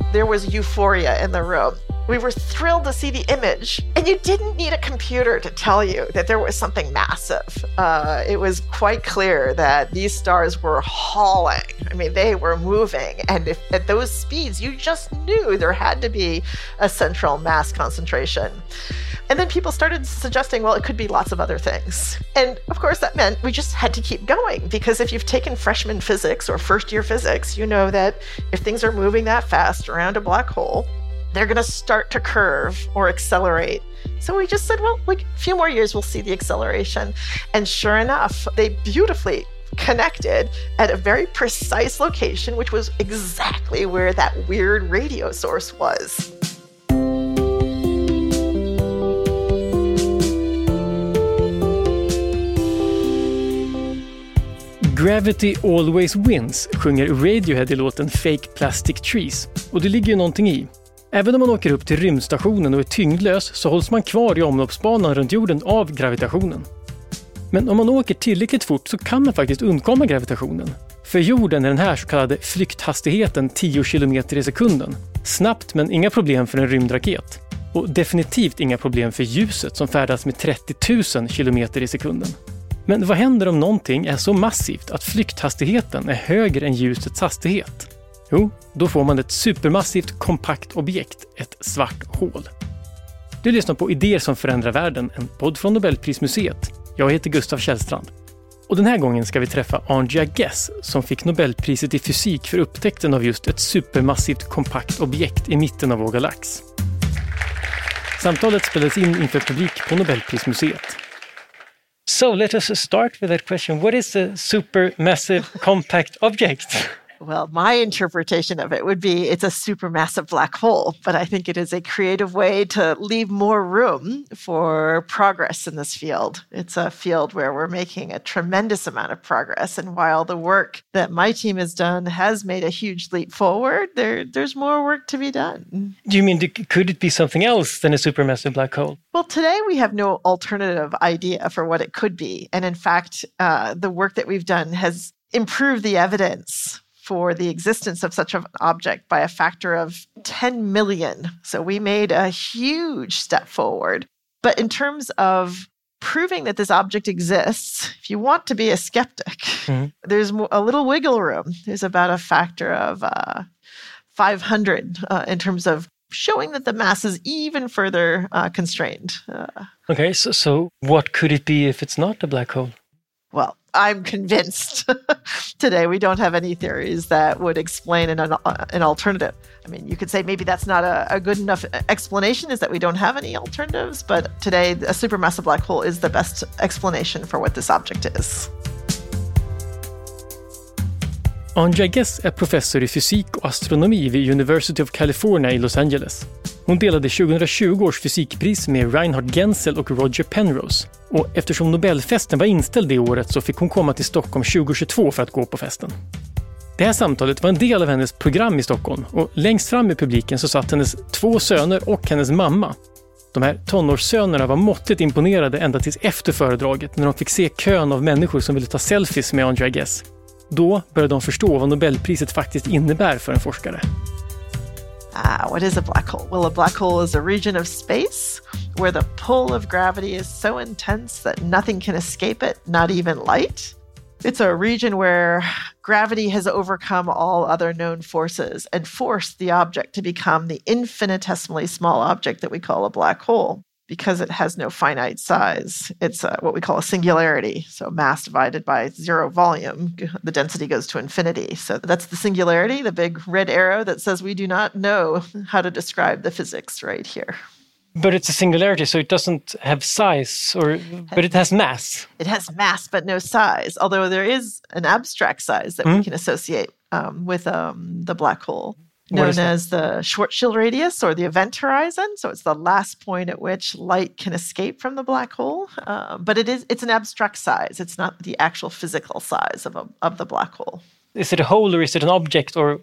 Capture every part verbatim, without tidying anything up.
There was euphoria in the room. We were thrilled to see the image, and you didn't need a computer to tell you that there was something massive. Uh, it was quite clear that these stars were hauling. I mean, they were moving, and if, at those speeds, you just knew there had to be a central mass concentration. And then people started suggesting, well, it could be lots of other things. And of course, that meant we just had to keep going, because if you've taken freshman physics or first-year physics, you know that if things are moving that fast around a black hole, they're going to start to curve or accelerate. So we just said, well, like a few more years, we'll see the acceleration. And sure enough, they beautifully connected at a very precise location, which was exactly where that weird radio source was. Gravity Always Wins sjunger Radiohead i låten Fake Plastic Trees. Och det ligger ju någonting i. Även om man åker upp till rymdstationen och är tyngdlös så hålls man kvar i omloppsbanan runt jorden av gravitationen. Men om man åker tillräckligt fort så kan man faktiskt undkomma gravitationen. För jorden är den här så kallade flykthastigheten tio kilometer i sekunden. Snabbt, men inga problem för en rymdraket. Och definitivt inga problem för ljuset som färdas med trettio tusen kilometer i sekunden. Men vad händer om någonting är så massivt att flykthastigheten är högre än ljusets hastighet? Jo, då får man ett supermassivt kompakt objekt, ett svart hål. Du lyssnar på Idéer som förändrar världen, en podd från Nobelprismuseet. Jag heter Gustav Källstrand. Och den här gången ska vi träffa Andrea Ghez som fick Nobelpriset i fysik för upptäckten av just ett supermassivt kompakt objekt i mitten av vår galax. Samtalet spelades in inför publik på Nobelprismuseet. So let us start with that question. What is a supermassive compact object? Well, my interpretation of it would be it's a supermassive black hole, but I think it is a creative way to leave more room for progress in this field. It's a field where we're making a tremendous amount of progress, and while the work that my team has done has made a huge leap forward, there, there's more work to be done. Do you mean, could it be something else than a supermassive black hole? Well, today we have no alternative idea for what it could be, and in fact, uh, the work that we've done has improved the evidence for the existence of such an object by a factor of ten million. So we made a huge step forward. But in terms of proving that this object exists, if you want to be a skeptic, mm-hmm. there's a little wiggle room. There's about a factor of uh, five hundred uh, in terms of showing that the mass is even further uh, constrained. Uh, okay, so, so what could it be if it's not a black hole? Well, I'm convinced today we don't have any theories that would explain an, an alternative. I mean, you could say maybe that's not a, a good enough explanation, is that we don't have any alternatives, but today a supermassive black hole is the best explanation for what this object is. Andrea Ghez är professor i fysik och astronomi vid University of California i Los Angeles. Hon delade tjugohundratjugo års fysikpris med Reinhard Genzel och Roger Penrose. Och eftersom Nobelfesten var inställd det året så fick hon komma till Stockholm tjugohundratjugotvå för att gå på festen. Det här samtalet var en del av hennes program i Stockholm och längst fram i publiken så satt hennes två söner och hennes mamma. De här tonårssönerna var måttligt imponerade ända tills efter föredraget när de fick se kön av människor som ville ta selfies med Andrea Ghez. Då började de förstå vad Nobelpriset faktiskt innebär för en forskare. Ah, what is a black hole? Well, a black hole is a region of space where the pull of gravity is so intense that nothing can escape it, not even light. It's a region where gravity has overcome all other known forces and forced the object to become the infinitesimally small object that we call a black hole. Because it has no finite size. It's uh, what we call a singularity. So mass divided by zero volume, the density goes to infinity. So that's the singularity, the big red arrow that says we do not know how to describe the physics right here. But it's a singularity, so it doesn't have size, or but it has mass. It has mass, but no size, although there is an abstract size that mm. we can associate um, with um, the black hole. Known as the Schwarzschild radius or the event horizon. So it's the last point at which light can escape from the black hole. Uh, but it is it's an abstract size. It's not the actual physical size of a, of the black hole. Is it a hole or is it an object, or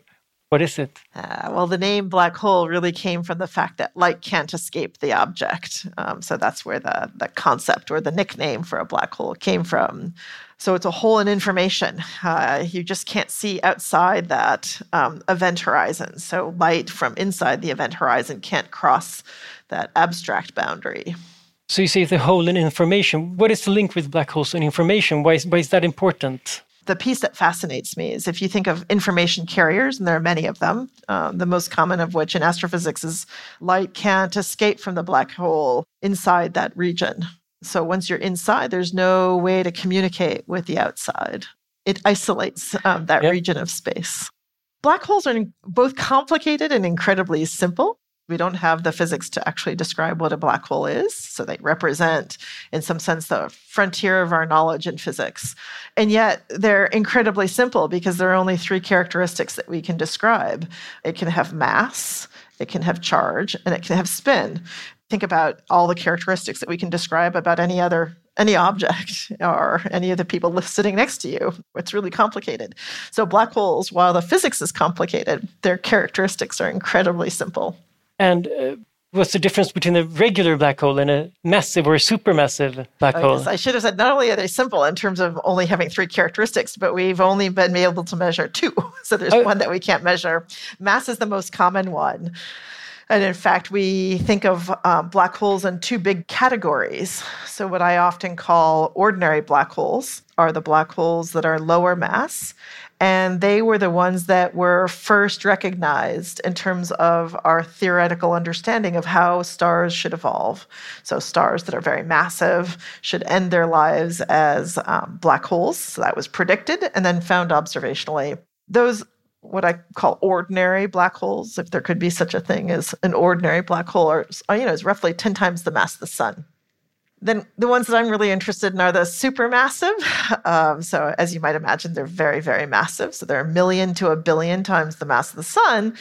What is it? Uh, well, the name black hole really came from the fact that light can't escape the object. Um, so that's where the, the concept or the nickname for a black hole came from. So it's a hole in information. Uh, you just can't see outside that um, event horizon. So light from inside the event horizon can't cross that abstract boundary. So you say the hole in information. What is the link with black holes and information? Why is, why is that important? The piece that fascinates me is if you think of information carriers, and there are many of them, um, the most common of which in astrophysics is light can't escape from the black hole inside that region. So once you're inside, there's no way to communicate with the outside. It isolates um, that yep. region of space. Black holes are both complicated and incredibly simple. We don't have the physics to actually describe what a black hole is. So they represent, in some sense, the frontier of our knowledge in physics. And yet they're incredibly simple because there are only three characteristics that we can describe. It can have mass, it can have charge, and it can have spin. Think about all the characteristics that we can describe about any other any object or any of the people sitting next to you. It's really complicated. So black holes, while the physics is complicated, their characteristics are incredibly simple. And uh, what's the difference between a regular black hole and a massive or a supermassive black I hole? guess I should have said not only are they simple in terms of only having three characteristics, but we've only been able to measure two. So there's oh. one that we can't measure. Mass is the most common one. And in fact, we think of um, black holes in two big categories. So what I often call ordinary black holes are the black holes that are lower mass. And they were the ones that were first recognized in terms of our theoretical understanding of how stars should evolve. So stars that are very massive should end their lives as um, black holes. So that was predicted and then found observationally. Those, what I call ordinary black holes, if there could be such a thing as an ordinary black hole, are, you know, is roughly ten times the mass of the sun. Then the ones that I'm really interested in are the supermassive. Um, so as you might imagine, they're very, very massive. So they're a million to a billion times the mass of the sun.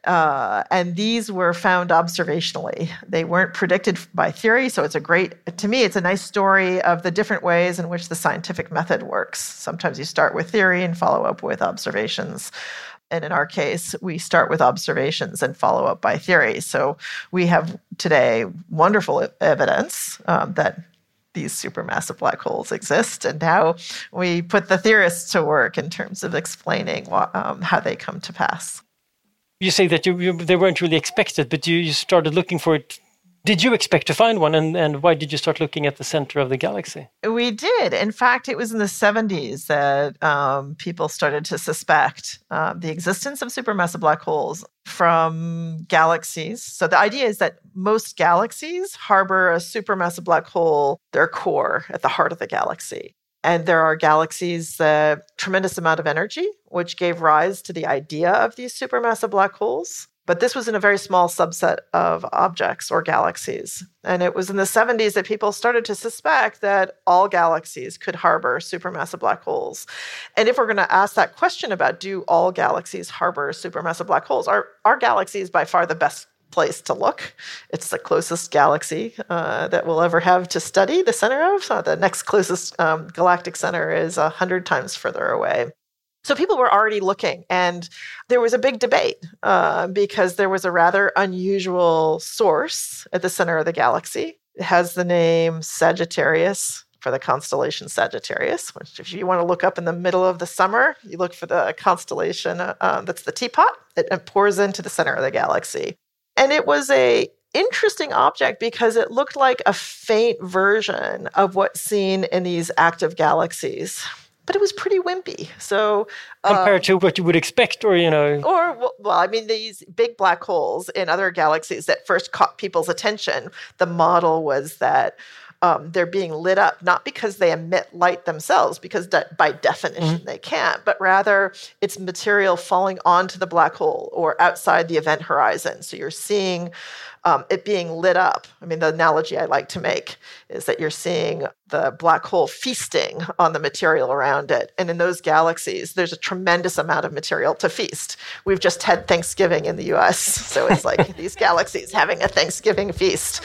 Uh, and these were found observationally. They weren't predicted by theory. So it's a great, to me, it's a nice story of the different ways in which the scientific method works. Sometimes you start with theory and follow up with observations. And in our case, we start with observations and follow up by theory. So we have today wonderful evidence um, that these supermassive black holes exist. And now we put the theorists to work in terms of explaining what, um, how they come to pass. You say that you, you, they weren't really expected, but you, you started looking for it. Did you expect to find one, and, and why did you start looking at the center of the galaxy? We did. In fact, it was in the seventies that um, people started to suspect uh, the existence of supermassive black holes from galaxies. So the idea is that most galaxies harbor a supermassive black hole, their core, at the heart of the galaxy. And there are galaxies that tremendous amount of energy, which gave rise to the idea of these supermassive black holes. But this was in a very small subset of objects or galaxies. And it was in the seventies that people started to suspect that all galaxies could harbor supermassive black holes. And if we're going to ask that question about do all galaxies harbor supermassive black holes, our, our galaxy is by far the best place to look. It's the closest galaxy uh, that we'll ever have to study the center of. Uh, the next closest um, galactic center is one hundred times further away. So people were already looking, and there was a big debate uh, because there was a rather unusual source at the center of the galaxy. It has the name Sagittarius for the constellation Sagittarius, which if you want to look up in the middle of the summer, you look for the constellation uh, that's the teapot. It, it pours into the center of the galaxy. And it was a interesting object because it looked like a faint version of what's seen in these active galaxies. But it was pretty wimpy. So uh, compared to what you would expect, or you know, or well, I mean, these big black holes in other galaxies that first caught people's attention. The model was that um, they're being lit up not because they emit light themselves, because de- by definition mm-hmm. they can't, but rather it's material falling onto the black hole or outside the event horizon. So you're seeing Um, it being lit up. I mean, the analogy I like to make is that you're seeing the black hole feasting on the material around it. And in those galaxies, there's a tremendous amount of material to feast. We've just had Thanksgiving in the U S, so it's like these galaxies having a Thanksgiving feast.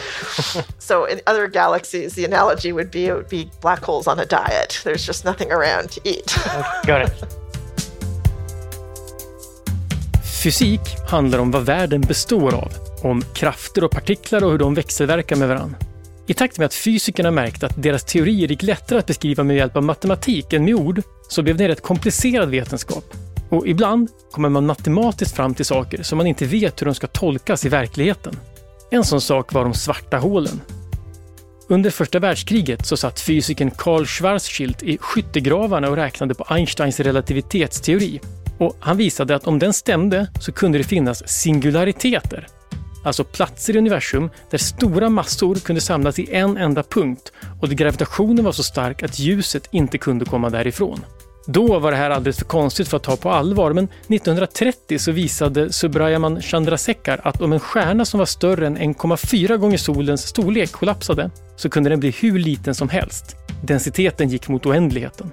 So in other galaxies, the analogy would be it would be black holes on a diet. There's just nothing around to eat. Okay, got it. Fysik handlar om vad världen består av, om krafter och partiklar och hur de växelverkar med varann. I takt med att fysikerna märkte att deras teorier gick lättare att beskriva med hjälp av matematik än med ord, så blev det en rätt komplicerad vetenskap. Och ibland kommer man matematiskt fram till saker som man inte vet hur de ska tolkas i verkligheten. En sån sak var de svarta hålen. Under första världskriget så satt fysikern Karl Schwarzschild i skyttegravarna och räknade på Einsteins relativitetsteori. Och han visade att om den stämde så kunde det finnas singulariteter. Alltså platser i universum där stora massor kunde samlas i en enda punkt och där gravitationen var så stark att ljuset inte kunde komma därifrån. Då var det här alldeles för konstigt för att ta på allvar, men nittonhundratrettio så visade Subrahman Chandrasekhar att om en stjärna som var större än en komma fyra gånger solens storlek kollapsade så kunde den bli hur liten som helst. Densiteten gick mot oändligheten.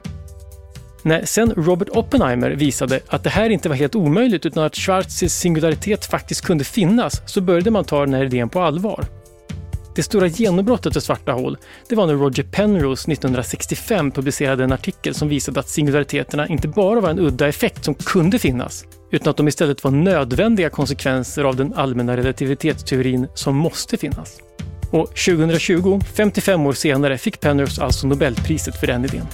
När sen Robert Oppenheimer visade att det här inte var helt omöjligt utan att Schwarzs singularitet faktiskt kunde finnas, så började man ta den här idén på allvar. Det stora genombrottet av svarta hål, det var när Roger Penrose nittonhundrasextiofem publicerade en artikel som visade att singulariteterna inte bara var en udda effekt som kunde finnas, utan att de istället var nödvändiga konsekvenser av den allmänna relativitetsteorin som måste finnas. Och tjugohundratjugo, femtiofem år senare, fick Penrose alltså Nobelpriset för den idén.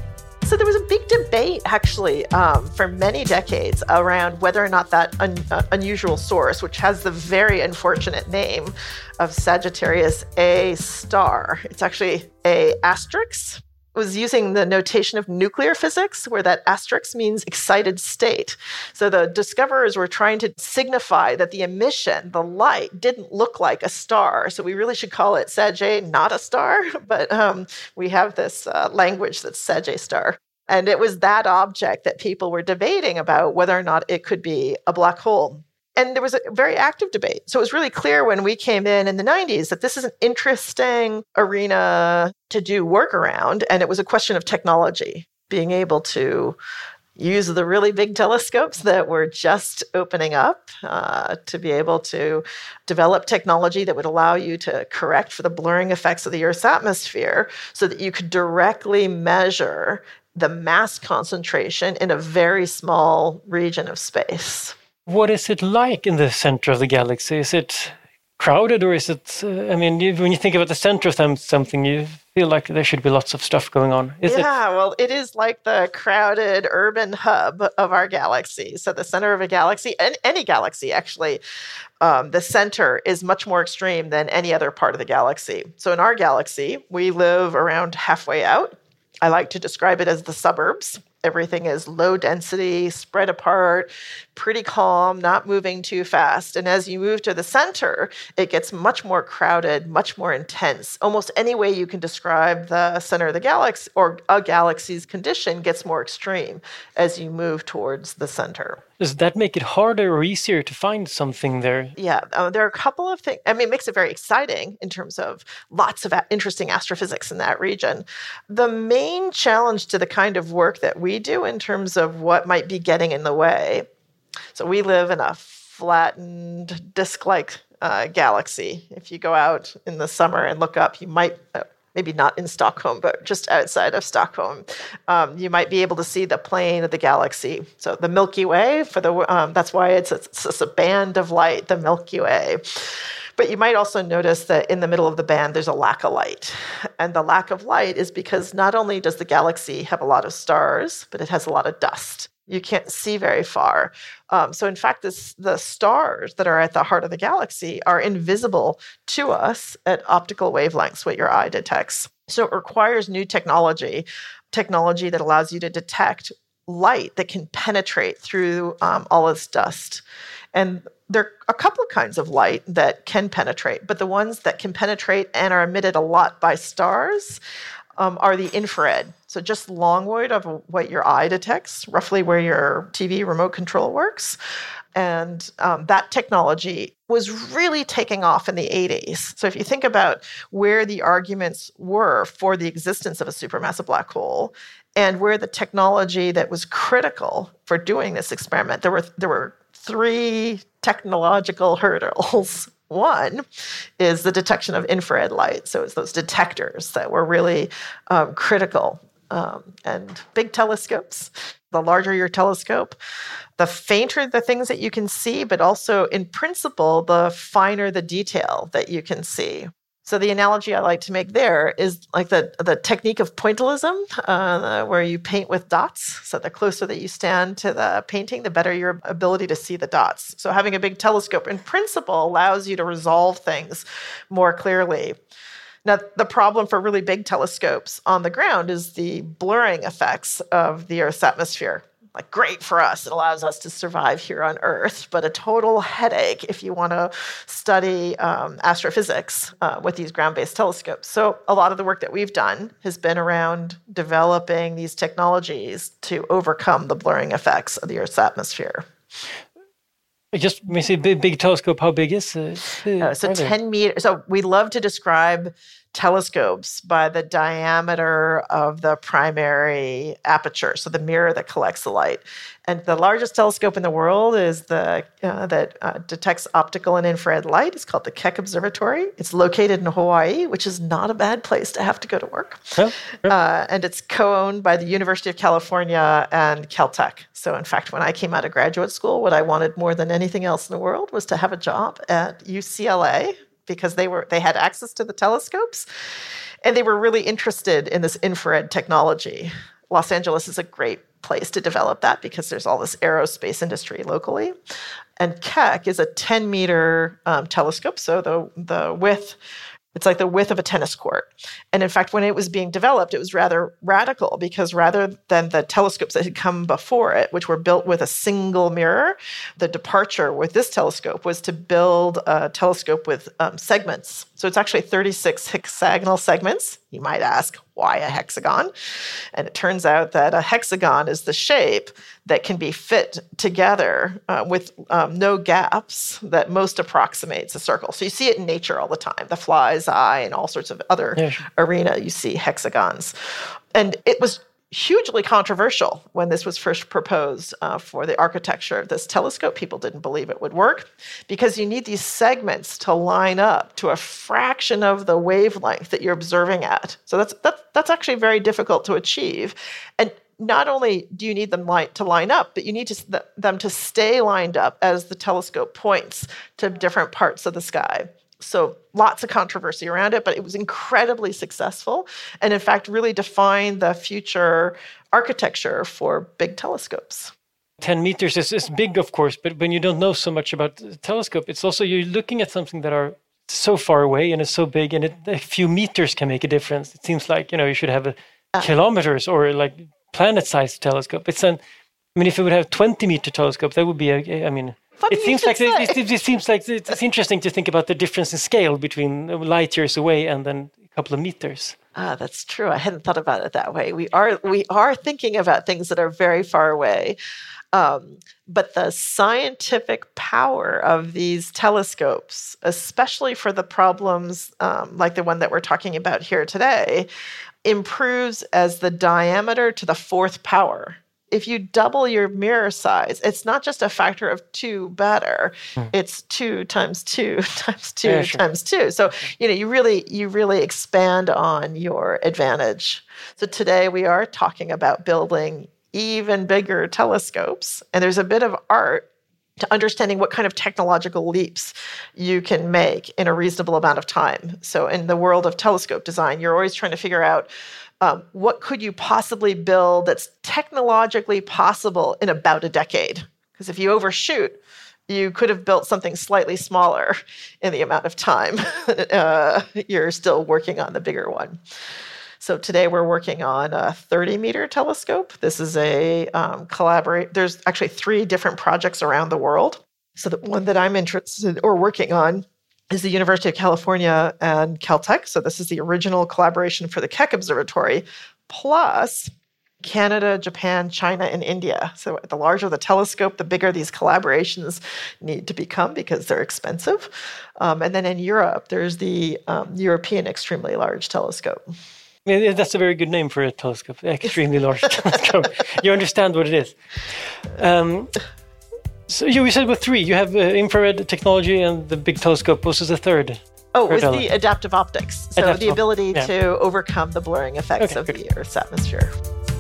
So there was a big debate, actually, um, for many decades around whether or not that un- uh, unusual source, which has the very unfortunate name of Sagittarius A star, it's actually A asterisk, was using the notation of nuclear physics, where that asterisk means excited state. So the discoverers were trying to signify that the emission, the light, didn't look like a star. So we really should call it Sag A, not a star. But um, we have this uh, language that's Sag A star. And it was that object that people were debating about whether or not it could be a black hole. And there was a very active debate. So it was really clear when we came in in the nineties that this is an interesting arena to do work around. And it was a question of technology, being able to use the really big telescopes that were just opening up uh, to be able to develop technology that would allow you to correct for the blurring effects of the Earth's atmosphere so that you could directly measure the mass concentration in a very small region of space. What is it like in the center of the galaxy? Is it crowded or is it, uh, I mean, you, when you think about the center of them, something, you feel like there should be lots of stuff going on. Is yeah, it? Well, it is like the crowded urban hub of our galaxy. So the center of a galaxy, and any galaxy actually, um, the center is much more extreme than any other part of the galaxy. So in our galaxy, we live around halfway out. I like to describe it as the suburbs. Everything is low density, spread apart, pretty calm, not moving too fast. And as you move to the center, it gets much more crowded, much more intense. Almost any way you can describe the center of the galaxy or a galaxy's condition gets more extreme as you move towards the center. Does that make it harder or easier to find something there? Yeah, uh, there are a couple of things. I mean, it makes it very exciting in terms of lots of a- interesting astrophysics in that region. The main challenge to the kind of work that we do in terms of what might be getting in the way. So we live in a flattened disk-like uh, galaxy. If you go out in the summer and look up, you might... Uh, maybe not in Stockholm, but just outside of Stockholm, um, you might be able to see the plane of the galaxy. So the Milky Way, for the um, that's why it's, it's, it's a band of light, the Milky Way. But you might also notice that in the middle of the band, there's a lack of light. And the lack of light is because not only does the galaxy have a lot of stars, but it has a lot of dust. You can't see very far. Um, so in fact, this, the stars that are at the heart of the galaxy are invisible to us at optical wavelengths, what your eye detects. So it requires new technology, technology that allows you to detect light that can penetrate through um, all this dust. And there are a couple of kinds of light that can penetrate, but the ones that can penetrate and are emitted a lot by stars Um, are the infrared. So just long wave of what your eye detects, roughly where your T V remote control works. And um, that technology was really taking off in the eighties. So if you think about where the arguments were for the existence of a supermassive black hole and where the technology that was critical for doing this experiment, there were there were three technological hurdles. One is the detection of infrared light. So it's those detectors that were really um, critical Um, and big telescopes, the larger your telescope, the fainter the things that you can see, but also in principle, the finer the detail that you can see. So the analogy I like to make there is like the, the technique of pointillism, uh, where you paint with dots. So the closer that you stand to the painting, the better your ability to see the dots. So having a big telescope in principle allows you to resolve things more clearly. Now, the problem for really big telescopes on the ground is the blurring effects of the Earth's atmosphere. Like, great for us, it allows us to survive here on Earth, but a total headache if you want to study um, astrophysics uh, with these ground-based telescopes. So a lot of the work that we've done has been around developing these technologies to overcome the blurring effects of the Earth's atmosphere. Just when you say big, big telescope, how big is it? Uh, so ten meters. So we love to describe telescopes by the diameter of the primary aperture, so the mirror that collects the light. And the largest telescope in the world is the uh, that uh, detects optical and infrared light. It's called the Keck Observatory. It's located in Hawaii, which is not a bad place to have to go to work. Oh, sure. uh, and it's co-owned by the University of California and Caltech. So in fact, when I came out of graduate school, what I wanted more than anything else in the world was to have a job at U C L A, because they were they had access to the telescopes, and they were really interested in this infrared technology. Los Angeles is a great place to develop that because there's all this aerospace industry locally. And Keck is a ten meter um, telescope, so the the width, it's like the width of a tennis court. And in fact, when it was being developed, it was rather radical because rather than the telescopes that had come before it, which were built with a single mirror, the departure with this telescope was to build a telescope with um, segments. So it's actually thirty-six hexagonal segments. You might ask, why a hexagon? And it turns out that a hexagon is the shape that can be fit together uh, with um, no gaps that most approximates a circle. So you see it in nature all the time, the fly's eye and all sorts of other yeah, sure. arena, you see hexagons. And it was hugely controversial when this was first proposed uh, for the architecture of this telescope. People didn't believe it would work because you need these segments to line up to a fraction of the wavelength that you're observing at. So that's that's, that's actually very difficult to achieve. And not only do you need them li- to line up, but you need to, th- them to stay lined up as the telescope points to different parts of the sky. So lots of controversy around it, but it was incredibly successful and, in fact, really defined the future architecture for big telescopes. ten meters is, is big, of course, but when you don't know so much about the telescope, it's also you're looking at something that are so far away and it's so big, and it, a few meters can make a difference. It seems like, you know, you should have a uh, kilometers or like planet-sized telescope. It's an, I mean, if it would have twenty meter telescope, that would be a, I mean... Funny it seems like it, it, it seems like it's interesting to think about the difference in scale between light years away and then a couple of meters. Ah, that's true. I hadn't thought about it that way. We are we are thinking about things that are very far away, um, but the scientific power of these telescopes, especially for the problems um, like the one that we're talking about here today, improves as the diameter to the fourth power. If you double your mirror size, it's not just a factor of two better. Mm. It's two times two times two yeah, sure. times two. So, you know, you really, you really expand on your advantage. So today we are talking about building even bigger telescopes. And there's a bit of art to understanding what kind of technological leaps you can make in a reasonable amount of time. So in the world of telescope design, you're always trying to figure out Um, what could you possibly build that's technologically possible in about a decade? Because if you overshoot, you could have built something slightly smaller in the amount of time uh, you're still working on the bigger one. So today we're working on a thirty meter telescope. This is a um, collaborate. There's actually three different projects around the world. So the one that I'm interested or working on is the University of California and Caltech. So this is the original collaboration for the Keck Observatory, plus Canada, Japan, China, and India. So the larger the telescope, the bigger these collaborations need to become because they're expensive. Um, and then in Europe, there's the um, European Extremely Large Telescope. Yeah, that's a very good name for a telescope, extremely large telescope. You understand what it is. Um, So you said with three, you have uh, infrared technology and the big telescope. What was the third? Oh, it was the adaptive optics. So adaptive the ability yeah. to overcome the blurring effects okay, of good. the Earth's atmosphere.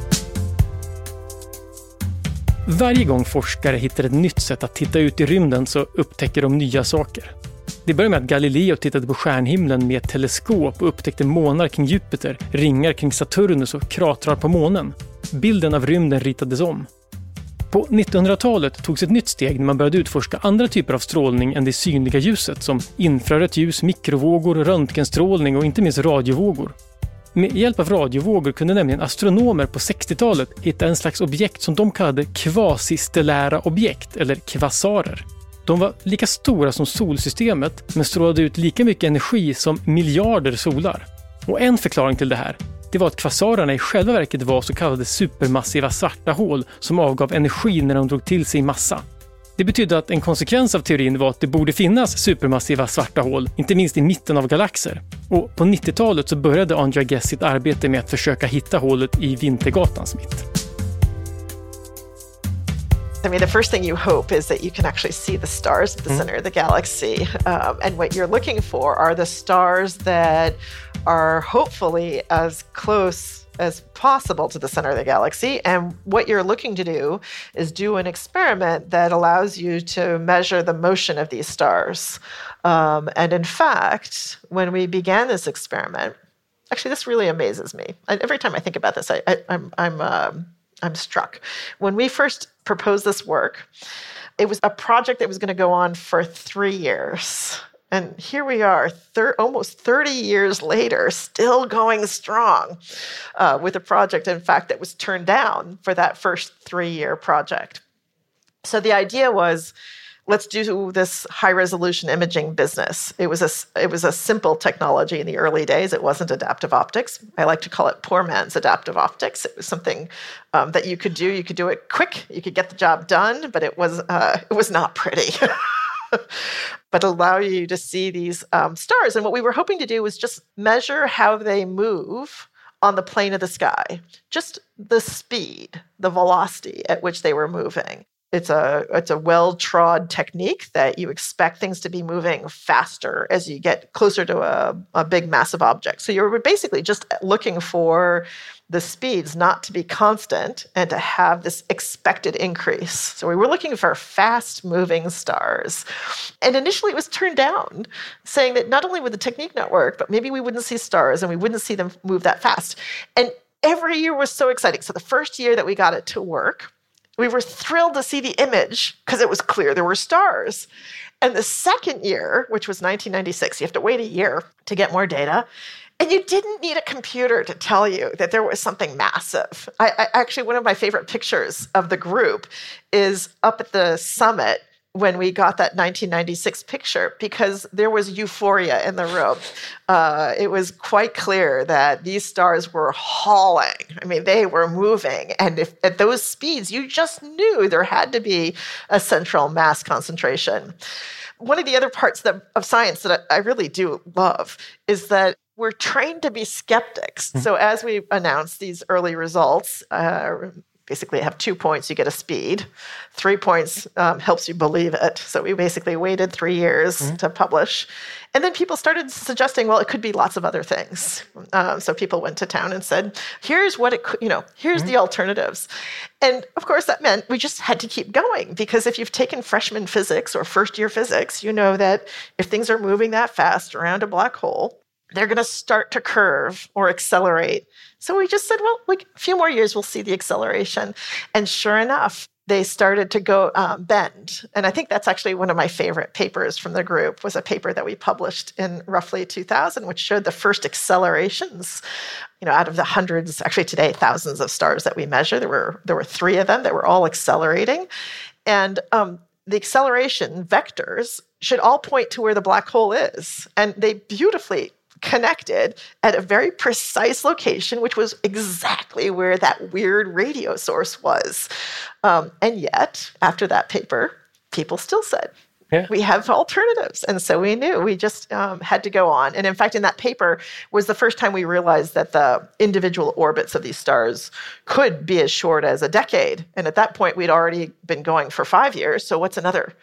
Varje gång forskare hittar ett nytt sätt att titta ut i rymden så upptäcker de nya saker. Det började med att Galileo tittade på stjärnhimlen med ett teleskop och upptäckte månar kring Jupiter, ringar kring Saturnus och kratrar på månen. Bilden av rymden ritades om. På nittonhundratalet togs ett nytt steg när man började utforska andra typer av strålning än det synliga ljuset som infrarött ljus, mikrovågor, röntgenstrålning och inte minst radiovågor. Med hjälp av radiovågor kunde nämligen astronomer på sextiotalet hitta en slags objekt som de kallade kvasistellära objekt eller kvasarer. De var lika stora som solsystemet men strålade ut lika mycket energi som miljarder solar. Och en förklaring till det här, det var att kvasarerna i själva verket var så kallade supermassiva svarta hål som avgav energi när de drog till sig massa. Det betydde att en konsekvens av teorin var att det borde finnas supermassiva svarta hål, inte minst i mitten av galaxer. Och på nittiotalet så började Andrea Ghez sitt arbete med att försöka hitta hålet i Vintergatans mitt. I mean, the first thing you hope is that you can actually see the stars at the mm. center of the galaxy. Um, and what you're looking for are the stars that are hopefully as close as possible to the center of the galaxy. And what you're looking to do is do an experiment that allows you to measure the motion of these stars. Um, and in fact, when we began this experiment, actually, this really amazes me. I, every time I think about this, I, I, I'm, I'm, um, I'm struck. When we first proposed this work, it was a project that was going to go on for three years. And here we are, thir- almost thirty years later, still going strong uh, with a project, in fact, that was turned down for that first three-year project. So the idea was, let's do this high-resolution imaging business. It was a, it was a simple technology in the early days. It wasn't adaptive optics. I like to call it poor man's adaptive optics. It was something um, that you could do. You could do it quick. You could get the job done, but it was uh, it was not pretty. But allow you to see these um, stars. And what we were hoping to do was just measure how they move on the plane of the sky, just the speed, the velocity at which they were moving. It's a it's a well-trod technique that you expect things to be moving faster as you get closer to a, a big, massive object. So you're basically just looking for the speeds not to be constant and to have this expected increase. So we were looking for fast-moving stars. And initially it was turned down, saying that not only would the technique not work, but maybe we wouldn't see stars and we wouldn't see them move that fast. And every year was so exciting. So the first year that we got it to work, we were thrilled to see the image because it was clear there were stars. And the second year, which was nineteen ninety-six, you have to wait a year to get more data. And you didn't need a computer to tell you that there was something massive. I, I actually, one of my favorite pictures of the group is up at the summit when we got that nineteen ninety-six picture, because there was euphoria in the room. Uh, it was quite clear that these stars were hauling. I mean, they were moving. And if at those speeds, you just knew there had to be a central mass concentration. One of the other parts that, of science that I, I really do love is that we're trained to be skeptics. Mm-hmm. So as we announce these early results, uh, basically have two points, you get a speed. Three points um, helps you believe it. So we basically waited three years mm-hmm. to publish. And then people started suggesting, well, it could be lots of other things. Um, so people went to town and said, here's what it could, you know, here's mm-hmm. the alternatives. And of course that meant we just had to keep going, because if you've taken freshman physics or first year physics, you know that if things are moving that fast around a black hole, they're going to start to curve or accelerate. So we just said, well, like a few more years, we'll see the acceleration. And sure enough, they started to go um, bend. And I think that's actually one of my favorite papers from the group, was a paper that we published in roughly two thousand, which showed the first accelerations, you know, out of the hundreds, actually today, thousands of stars that we measure. There were, there were three of them that were all accelerating. And um, the acceleration vectors should all point to where the black hole is. And they beautifully connected at a very precise location, which was exactly where that weird radio source was. Um, and yet, after that paper, people still said, yeah. we have alternatives. And so we knew we just um, had to go on. And in fact, in that paper was the first time we realized that the individual orbits of these stars could be as short as a decade. And at that point, we'd already been going for five years. So what's another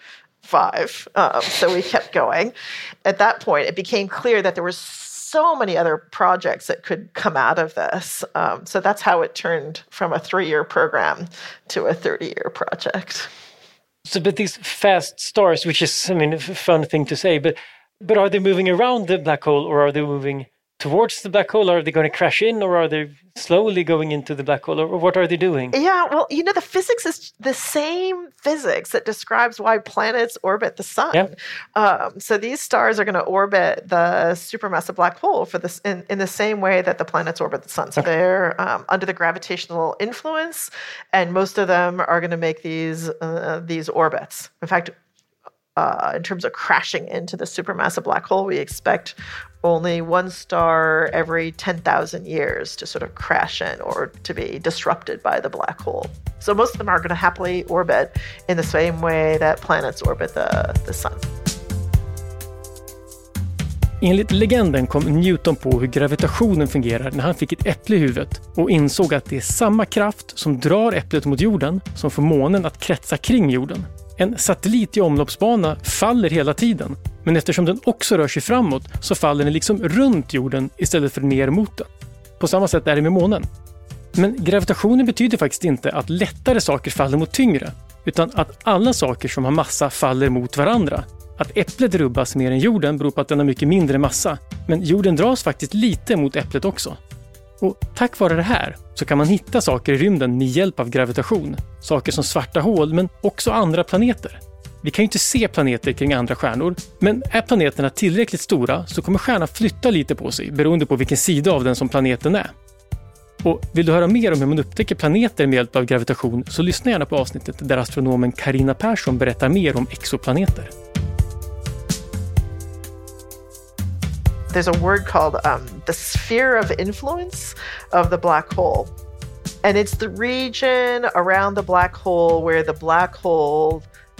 five. Um, so we kept going. At that point, it became clear that there was so many other projects that could come out of this. Um, so that's how it turned from a three-year program to a thirty-year project. So, but these fast stars, which is, I mean, a fun thing to say, but but are they moving around the black hole, or are they moving towards the black hole? Are they going to crash in, or are they slowly going into the black hole, or what are they doing? Yeah, well, you know, the physics is the same physics that describes why planets orbit the sun. Yeah. Um, so these stars are going to orbit the supermassive black hole for this in, in the same way that the planets orbit the sun. So okay. they're um, under the gravitational influence, and most of them are going to make these uh, these orbits. In fact, uh, in terms of crashing into the supermassive black hole, we expect only one star every ten thousand years to sort of crash in or to be disrupted by the black hole. So most of them are going to happily orbit in the same way that planets orbit the, the sun. Enligt legenden kom Newton på hur gravitationen fungerar när han fick ett äpple i huvudet och insåg att det är samma kraft som drar äpplet mot jorden som får månen att kretsa kring jorden. En satellit i omloppsbana faller hela tiden, men eftersom den också rör sig framåt så faller den liksom runt jorden istället för ner mot den. På samma sätt är det med månen. Men gravitationen betyder faktiskt inte att lättare saker faller mot tyngre, utan att alla saker som har massa faller mot varandra. Att äpplet rubbas mer än jorden beror på att den har mycket mindre massa, men jorden dras faktiskt lite mot äpplet också. Och tack vare det här så kan man hitta saker i rymden med hjälp av gravitation. Saker som svarta hål, men också andra planeter. Vi kan ju inte se planeter kring andra stjärnor, men är planeterna tillräckligt stora så kommer stjärnan flytta lite på sig beroende på vilken sida av den som planeten är. Och vill du höra mer om hur man upptäcker planeter med hjälp av gravitation så lyssna gärna på avsnittet där astronomen Carina Persson berättar mer om exoplaneter. There's a word called um, the sphere of influence of the black hole. And it's the region around the black hole where the black hole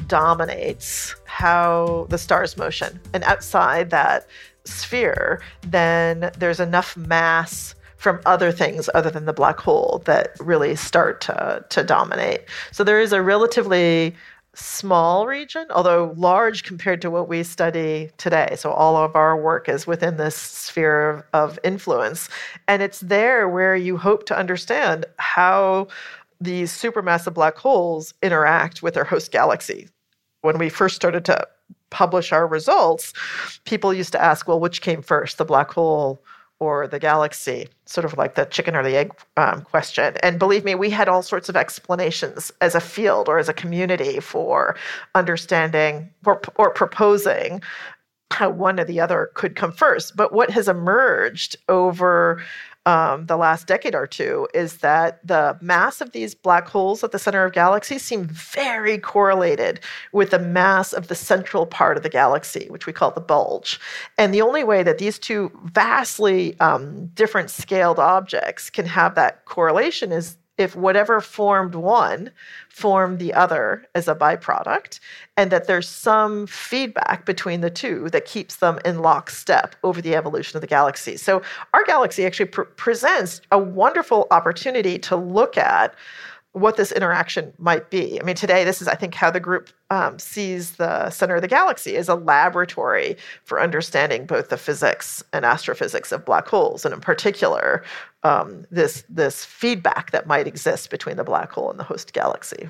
dominates how the star's motion. And outside that sphere, then there's enough mass from other things other than the black hole that really start to, to dominate. So there is a relatively small region, although large compared to what we study today. So all of our work is within this sphere of, of influence. And it's there where you hope to understand how these supermassive black holes interact with their host galaxy. When we first started to publish our results, people used to ask, well, which came first, the black hole or the galaxy, sort of like the chicken or the egg um, question. And believe me, we had all sorts of explanations as a field or as a community for understanding or, or proposing how one or the other could come first. But what has emerged over um, the last decade or two is that the mass of these black holes at the center of galaxies seem very correlated with the mass of the central part of the galaxy, which we call the bulge. And the only way that these two vastly um, different scaled objects can have that correlation is if whatever formed one formed the other as a byproduct, and that there's some feedback between the two that keeps them in lockstep over the evolution of the galaxy. So our galaxy actually pr- presents a wonderful opportunity to look at what this interaction might be. I mean, today, this is, I think, how the group um, sees the center of the galaxy as a laboratory for understanding both the physics and astrophysics of black holes, and in particular, um, this this feedback that might exist between the black hole and the host galaxy.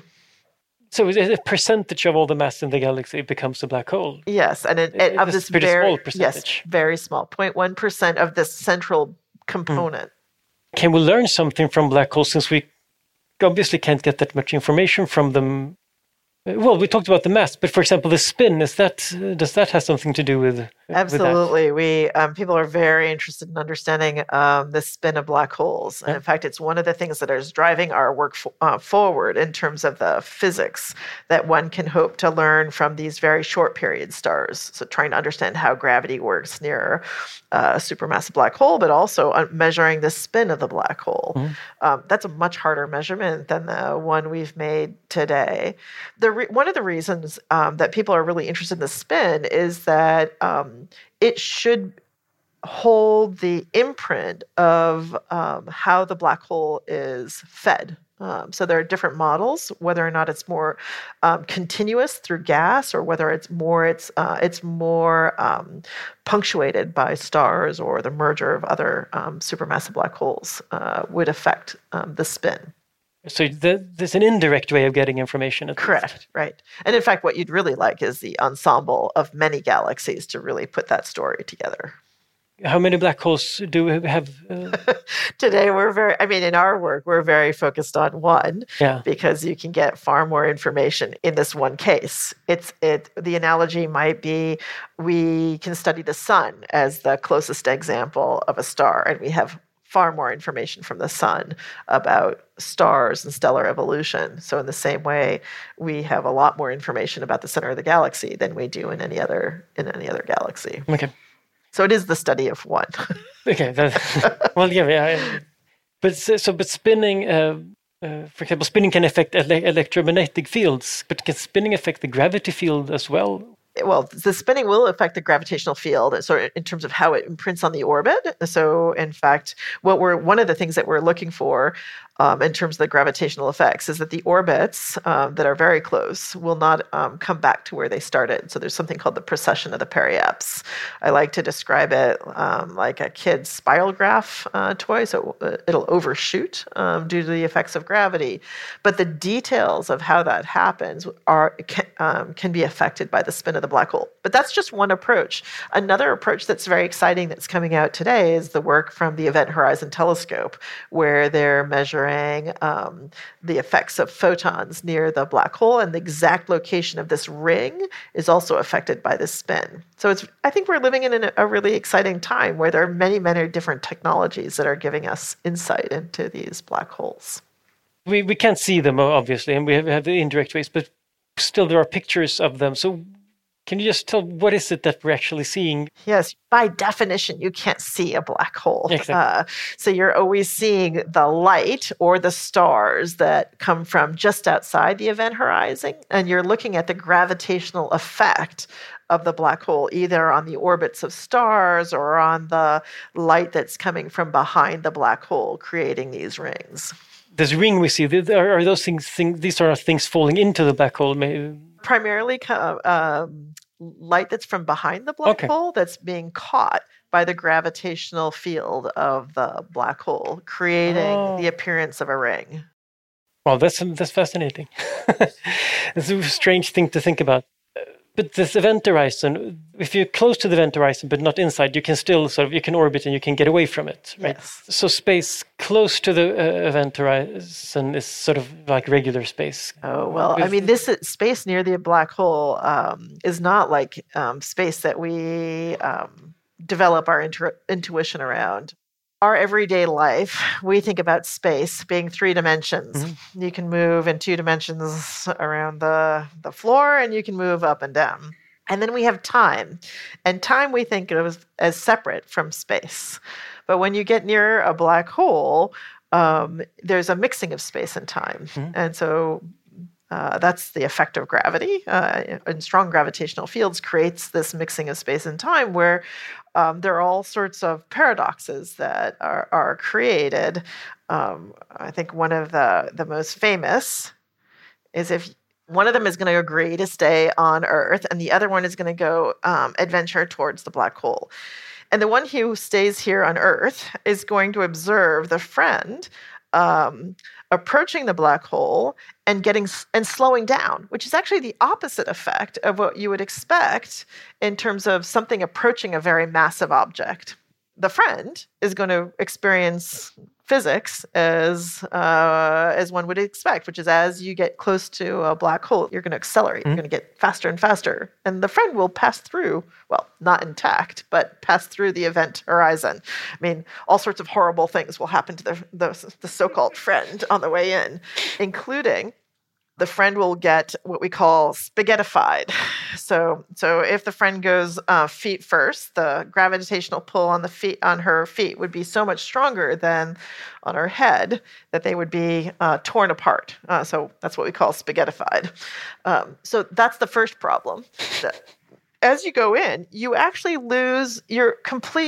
So a percentage of all the mass in the galaxy becomes a black hole? Yes, and it, it, of this pretty very small percentage. Yes, very small, zero point one percent of this central component. Mm. Can we learn something from black holes since we obviously can't get that much information from them? Well, we talked about the mass, but for example, the spin, is that uh, does that have something to do with Absolutely. With we um, people are very interested in understanding um, the spin of black holes. And yeah. In fact, it's one of the things that is driving our work f- uh, forward in terms of the physics that one can hope to learn from these very short period stars. So trying to understand how gravity works near uh, a supermassive black hole, but also uh, measuring the spin of the black hole. Mm-hmm. Um, that's a much harder measurement than the one we've made today. The re- one of the reasons um, that people are really interested in the spin is that um, it should hold the imprint of um, how the black hole is fed. Um, so there are different models, whether or not it's more um, continuous through gas, or whether it's more it's uh, it's more um, punctuated by stars, or the merger of other um, supermassive black holes uh, would affect um, the spin. So the, there's an indirect way of getting information. At Correct, least. Right. And in fact, what you'd really like is the ensemble of many galaxies to really put that story together. How many black holes do we have? Uh... Today, we're very, I mean, in our work, we're very focused on one, yeah. because you can get far more information in this one case. It's it. The analogy might be, we can study the sun as the closest example of a star, and we have far more information from the sun about stars and stellar evolution. So in the same way, we have a lot more information about the center of the galaxy than we do in any other in any other galaxy. Okay. So it is the study of one. Okay. That, well, yeah, yeah. But so, but spinning, uh, uh, for example, spinning can affect ele- electromagnetic fields. But can spinning affect the gravity field as well? Well, the spinning will affect the gravitational field, so in terms of how it imprints on the orbit. So, in fact, what we're one of the things that we're looking for um, in terms of the gravitational effects is that the orbits um, that are very close will not um, come back to where they started. So there's something called the precession of the periapse. I like to describe it um, like a kid's spiral graph uh, toy. So it'll overshoot um, due to the effects of gravity. But the details of how that happens are can, um, can be affected by the spin of the black hole. But that's just one approach. Another approach that's very exciting that's coming out today is the work from the Event Horizon Telescope, where they're measuring um, the effects of photons near the black hole, and the exact location of this ring is also affected by this spin. So it's, I think we're living in a really exciting time where there are many, many different technologies that are giving us insight into these black holes. We we can't see them, obviously, and we have, we have the indirect ways, but still there are pictures of them. So can you just tell what is it that we're actually seeing? Yes, by definition, you can't see a black hole. Exactly. Uh, so you're always seeing the light or the stars that come from just outside the event horizon, and you're looking at the gravitational effect of the black hole, either on the orbits of stars or on the light that's coming from behind the black hole, creating these rings. This ring we see, are, are those things, things? These are things falling into the black hole, maybe? Primarily um, light that's from behind the black okay. hole that's being caught by the gravitational field of the black hole, creating oh. the appearance of a ring. Well, that's that's fascinating. It's a strange thing to think about. But this event horizon, if you're close to the event horizon but not inside, you can still sort of, you can orbit and you can get away from it, right? Yes. So space close to the uh, event horizon is sort of like regular space. Oh, well, I mean, this is, space near the black hole um, is not like um, space that we um, develop our intu- intuition around. Our everyday life, we think about space being three dimensions. Mm-hmm. You can move in two dimensions around the, the floor, and you can move up and down. And then we have time. And time we think of as separate from space. But when you get near a black hole, um, there's a mixing of space and time. Mm-hmm. And so uh, that's the effect of gravity. Uh, and strong gravitational fields creates this mixing of space and time where Um, there are all sorts of paradoxes that are, are created. Um, I think one of the, the most famous is if one of them is going to agree to stay on Earth and the other one is going to go um, adventure towards the black hole. And the one who stays here on Earth is going to observe the friend um, approaching the black hole and getting and slowing down, which is actually the opposite effect of what you would expect in terms of something approaching a very massive object. The friend is going to experience physics as uh, as one would expect, which is as you get close to a black hole, you're going to accelerate. Mm-hmm. You're going to get faster and faster. And the friend will pass through, well, not intact, but pass through the event horizon. I mean, all sorts of horrible things will happen to the, the, the so-called friend on the way in, including the friend will get what we call spaghettified. So, so if the friend goes uh, feet first, the gravitational pull on the feet on her feet would be so much stronger than on her head that they would be uh, torn apart. Uh, so that's what we call spaghettified. Um, so that's the first problem. As you go in, you actually lose your complete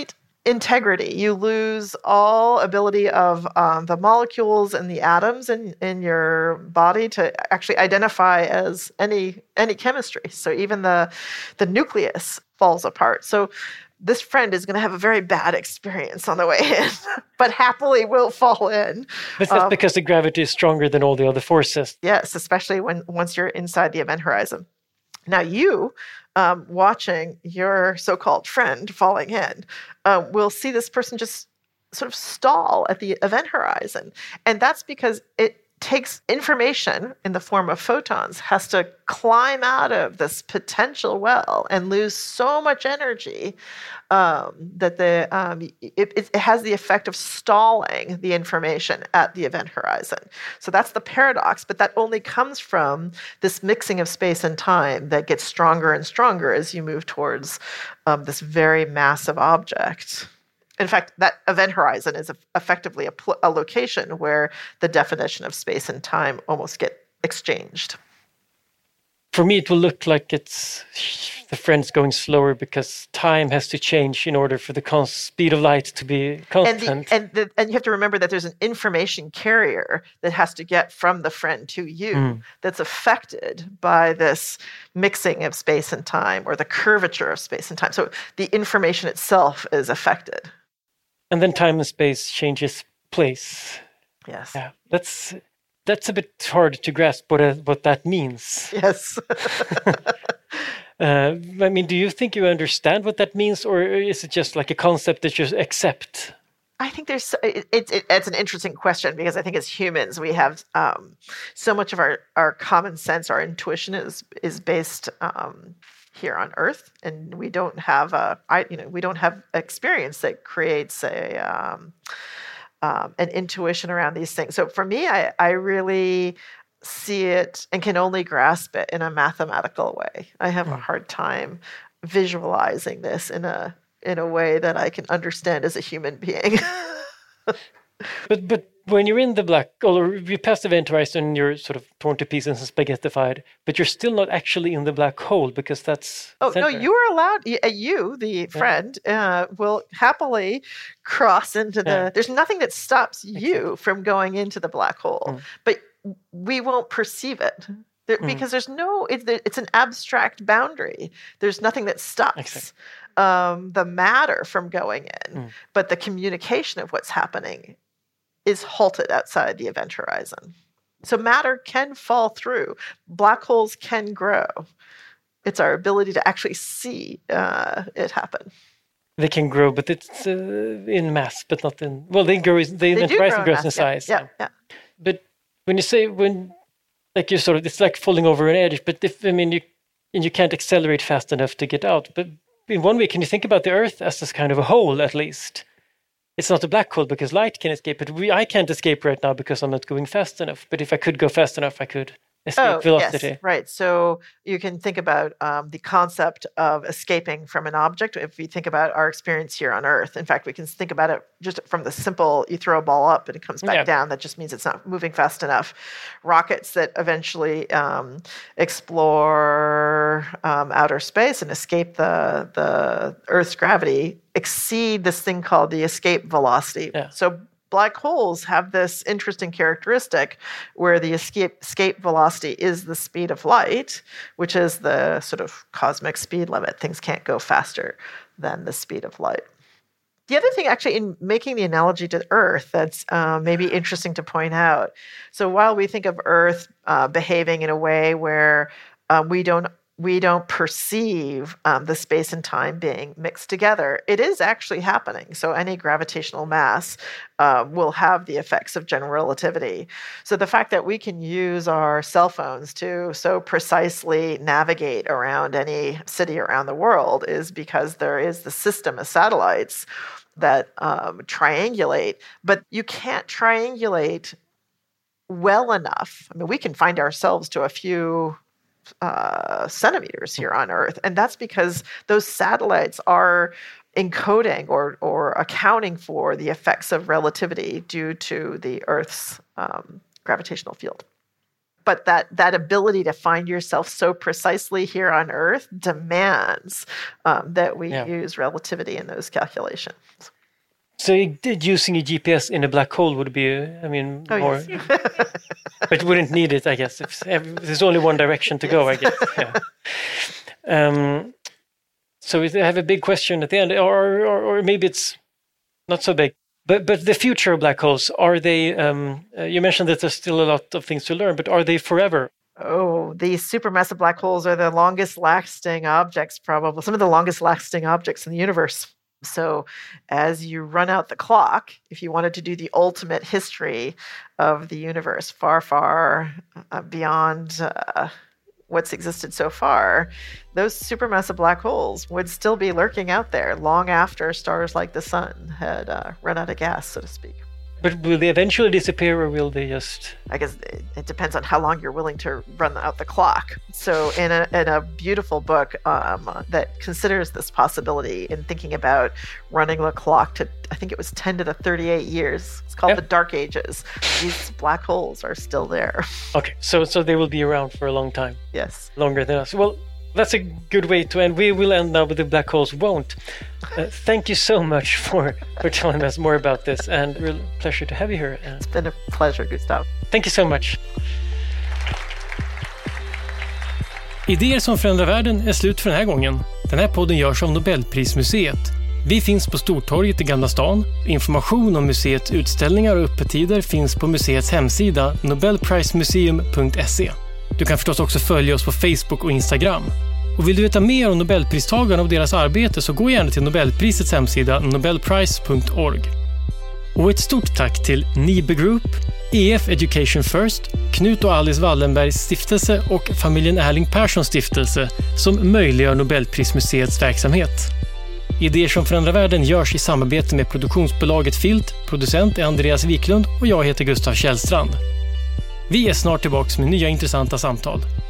integrity. You lose all ability of um, the molecules and the atoms in, in your body to actually identify as any any chemistry. So even the the nucleus falls apart. So this friend is going to have a very bad experience on the way in, but happily will fall in. But that's um, because the gravity is stronger than all the other forces. Yes, especially when once you're inside the event horizon. Now you, um, watching your so-called friend falling in, uh, will see this person just sort of stall at the event horizon. And that's because it takes information in the form of photons, has to climb out of this potential well and lose so much energy um, that the um, it, it has the effect of stalling the information at the event horizon. So that's the paradox, but that only comes from this mixing of space and time that gets stronger and stronger as you move towards um, this very massive object. In fact, that event horizon is effectively a, pl- a location where the definition of space and time almost get exchanged. For me, it will look like it's the friend's going slower because time has to change in order for the con- speed of light to be constant. And, the, and, the, and you have to remember that there's an information carrier that has to get from the friend to you mm. that's affected by this mixing of space and time or the curvature of space and time. So the information itself is affected. And then time and space changes place. Yes. Yeah, that's that's a bit hard to grasp what uh, what that means. Yes. uh, I mean, do you think you understand what that means, or is it just like a concept that you accept? I think there's it, it, it, it's an interesting question because I think as humans we have um, so much of our, our common sense, our intuition is is based. Um, here on Earth, and we don't have a, I, you know, we don't have experience that creates a um, um, an intuition around these things. So for me, I, I really see it and can only grasp it in a mathematical way. I have mm. a hard time visualizing this in a in a way that I can understand as a human being. But but when you're in the black, or you pass the event horizon, you're sort of torn to pieces and spaghettified, but you're still not actually in the black hole because that's... Oh, center. no, you are allowed, you, the friend, yeah. uh, will happily cross into the... Yeah. There's nothing that stops you exactly. from going into the black hole, mm. but we won't perceive it. There, mm. Because there's no... It's, it's an abstract boundary. There's nothing that stops... Exactly. Um, the matter from going in, mm. but the communication of what's happening is halted outside the event horizon. So matter can fall through. Black holes can grow. It's our ability to actually see uh, it happen. They can grow, but it's uh, in mass, but not in... Well, they grow. The event horizon grows in size. Yeah, yeah, yeah. But when you say when, like you sort of, it's like falling over an edge. But if I mean, you and you can't accelerate fast enough to get out. But in one way, can you think about the Earth as this kind of a hole, at least? It's not a black hole because light can escape, but we, I can't escape right now because I'm not going fast enough. But if I could go fast enough, I could escape oh, velocity. Yes, right. So you can think about um, the concept of escaping from an object. If we think about our experience here on Earth, in fact, we can think about it just from the simple, you throw a ball up and it comes back yeah. down. That just means it's not moving fast enough. Rockets that eventually um, explore um, outer space and escape the, the Earth's gravity exceed this thing called the escape velocity. Yeah. So black holes have this interesting characteristic where the escape, escape velocity is the speed of light, which is the sort of cosmic speed limit. Things can't go faster than the speed of light. The other thing, actually, in making the analogy to Earth that's uh, maybe interesting to point out, so while we think of Earth uh, behaving in a way where uh, we don't we don't perceive um, the space and time being mixed together, it is actually happening. So any gravitational mass uh, will have the effects of general relativity. So the fact that we can use our cell phones to so precisely navigate around any city around the world is because there is the system of satellites that um, triangulate, but you can't triangulate well enough. I mean, we can find ourselves to a few Uh, centimeters here on Earth. And that's because those satellites are encoding or, or accounting for the effects of relativity due to the Earth's um, gravitational field. But that, that ability to find yourself so precisely here on Earth demands um, that we yeah. use relativity in those calculations. So using a G P S in a black hole would be, I mean, oh, more... Yes. But you wouldn't need it, I guess. If there's only one direction to go, I guess. Yeah. Um, so I have a big question at the end, or, or, or maybe it's not so big. But but the future of black holes, are they, um, uh, you mentioned that there's still a lot of things to learn, but are they forever? Oh, these supermassive black holes are the longest lasting objects, probably some of the longest lasting objects in the universe. So as you run out the clock, if you wanted to do the ultimate history of the universe, far, far uh, beyond uh, what's existed so far, those supermassive black holes would still be lurking out there long after stars like the sun had uh, run out of gas, so to speak. But will they eventually disappear, or will they just... I guess it, it depends on how long you're willing to run out the clock. So in a in a beautiful book um, that considers this possibility in thinking about running the clock to, I think it was ten to the thirty-eight years. It's called Yep. The Dark Ages. These black holes are still there. Okay, so so they will be around for a long time. Yes. Longer than us. Well, that's a good way to end. We will end now, but the black holes won't. Uh, thank you so much for, for telling us more about this, and real pleasure to have you here. Uh, It's been a pleasure, Gustav. thank you so much. Idéer som förändrar världen är slut för den här gången. Den här podden görs av Nobelprismuseet. Vi finns på Stortorget i Gamla stan. Information om museets utställningar och öppettider finns på museets hemsida nobelprismuseum punkt se. Du kan förstås också följa oss på Facebook och Instagram. Och vill du veta mer om Nobelpristagarna och deras arbete, så gå gärna till Nobelprisets hemsida nobelprice punkt org. Och ett stort tack till Nibe Group, E F Education First, Knut och Alice Wallenbergs stiftelse och familjen Erling Perssons stiftelse som möjliggör Nobelprismuseets verksamhet. Idéer som förändrar världen görs i samarbete med produktionsbolaget Filt, producent är Andreas Wiklund och jag heter Gustav Källstrand. Vi är snart tillbaka med nya intressanta samtal.